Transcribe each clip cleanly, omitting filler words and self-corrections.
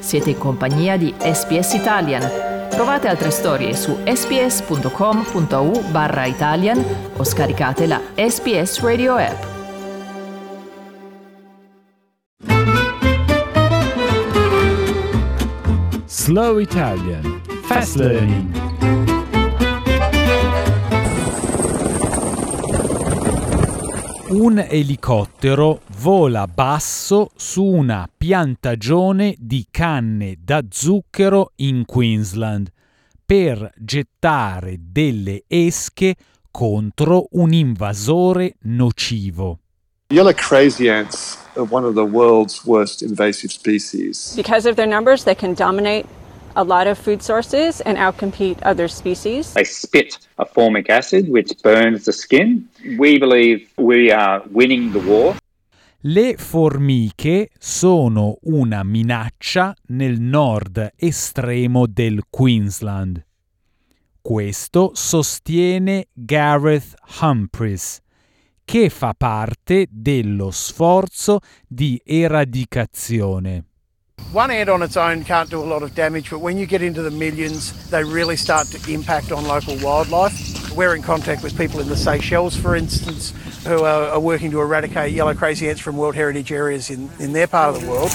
Siete in compagnia di SBS Italian. Trovate altre storie su sbs.com.au/Italian o scaricate la SBS Radio app. Slow Italian. Fast Learning. Un elicottero vola basso su una piantagione di canne da zucchero in Queensland per gettare delle esche contro un invasore nocivo. Yellow crazy ants are one of the world's worst invasive species. Because of their numbers, they can dominate a lot of food sources and outcompete other species. They spit a formic acid which burns the skin. We believe we are winning the war. Le formiche sono una minaccia nel nord estremo del Queensland. Questo sostiene Gareth Humphries, che fa parte dello sforzo di eradicazione. One ant on its own can't do a lot of damage, but when you get into the millions, they really start to impact on local wildlife. We're in contact with people in the Seychelles, for instance, who are working to eradicate yellow crazy ants from World Heritage areas in their part of the world.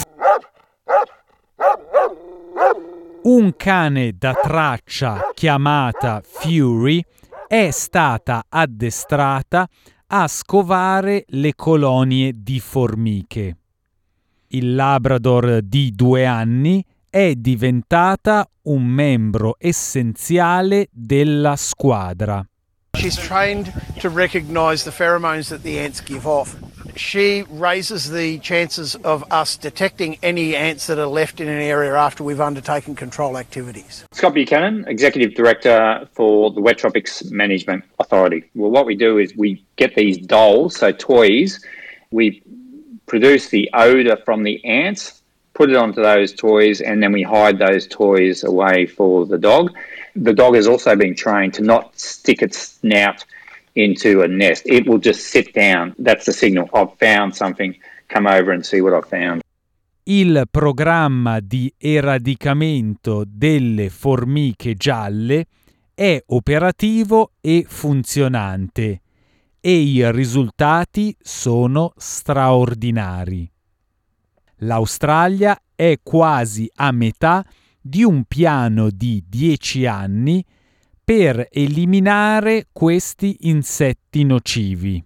Un cane da traccia chiamata Fury è stata addestrata a scovare le colonie di formiche. Il Labrador di 2 anni è diventata un membro essenziale della squadra. She's trained to recognize the pheromones that the ants give off. She raises the chances of us detecting any ants that are left in an area after we've undertaken control activities. Scott Buchanan, Executive Director for the Wet Tropics Management Authority. Well, what we do is we get these dolls, so toys. We produce the odour from the ants, put it onto those toys, and then we hide those toys away for the dog. The dog has also been trained to not stick its snout into a nest. It will just sit down. That's the signal. I've found something. Come over and see what I've found. Il programma di eradicamento delle formiche gialle è operativo e funzionante e i risultati sono straordinari. L'Australia è quasi a metà di un piano di 10 anni per eliminare questi insetti nocivi.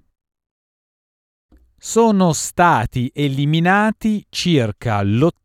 Sono stati eliminati circa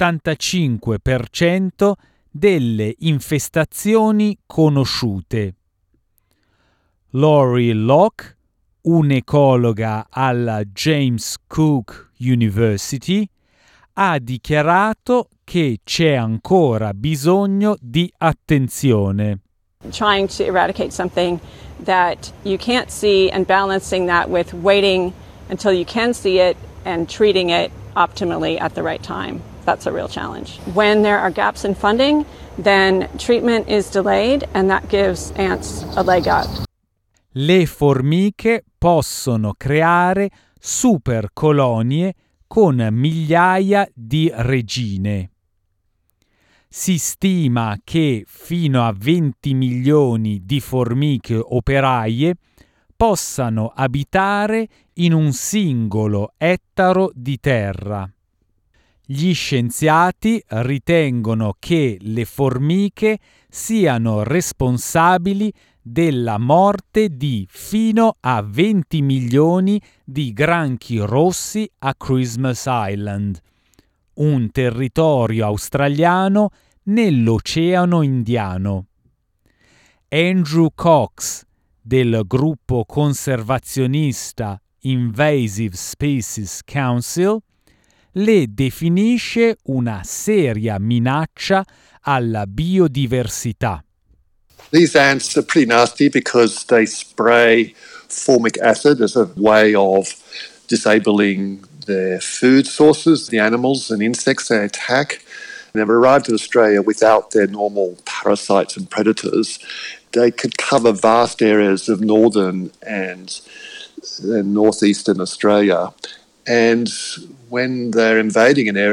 l'85% delle infestazioni conosciute. Laurie Locke, un'ecologa alla James Cook University, ha dichiarato che c'è ancora bisogno di attenzione. Trying to eradicate something that you can't see and balancing that with waiting until you can see it and treating it optimally at the right time. That's a real challenge. When there are gaps in funding, then treatment is delayed and that gives ants a leg up. Le formiche possono creare super colonie con migliaia di regine. Si stima che fino a 20 milioni di formiche operaie possano abitare in un singolo ettaro di terra. Gli scienziati ritengono che le formiche siano responsabili della morte di fino a 20 milioni di granchi rossi a Christmas Island, un territorio australiano nell'Oceano Indiano. Andrew Cox, del gruppo conservazionista Invasive Species Council, le definisce una seria minaccia alla biodiversità. These ants are pretty nasty because they spray formic acid as a way of disabling their food sources, the animals and insects they attack. They've arrived in Australia without their normal parasites and predators. They could cover vast areas of northern and northeastern Australia. And when they're invading an area,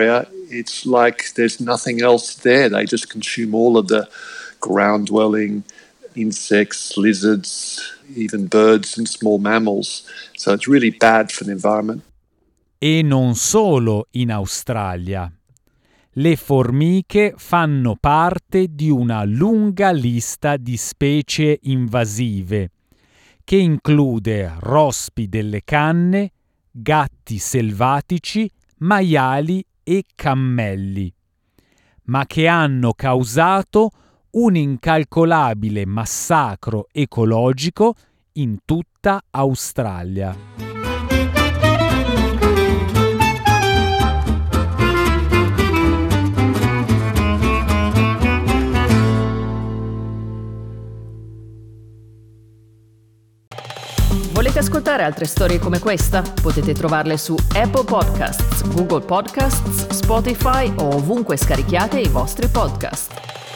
it's like there's nothing else there. They just consume all of the ground-dwelling insects, lizards, even birds and small mammals. So it's really bad for the environment. E non solo in Australia. Le formiche fanno parte di una lunga lista di specie invasive, che include rospi delle canne, gatti selvatici, maiali e cammelli, ma che hanno causato un incalcolabile massacro ecologico in tutta Australia. Volete ascoltare altre storie come questa? Potete trovarle su Apple Podcasts, Google Podcasts, Spotify o ovunque scarichiate i vostri podcast.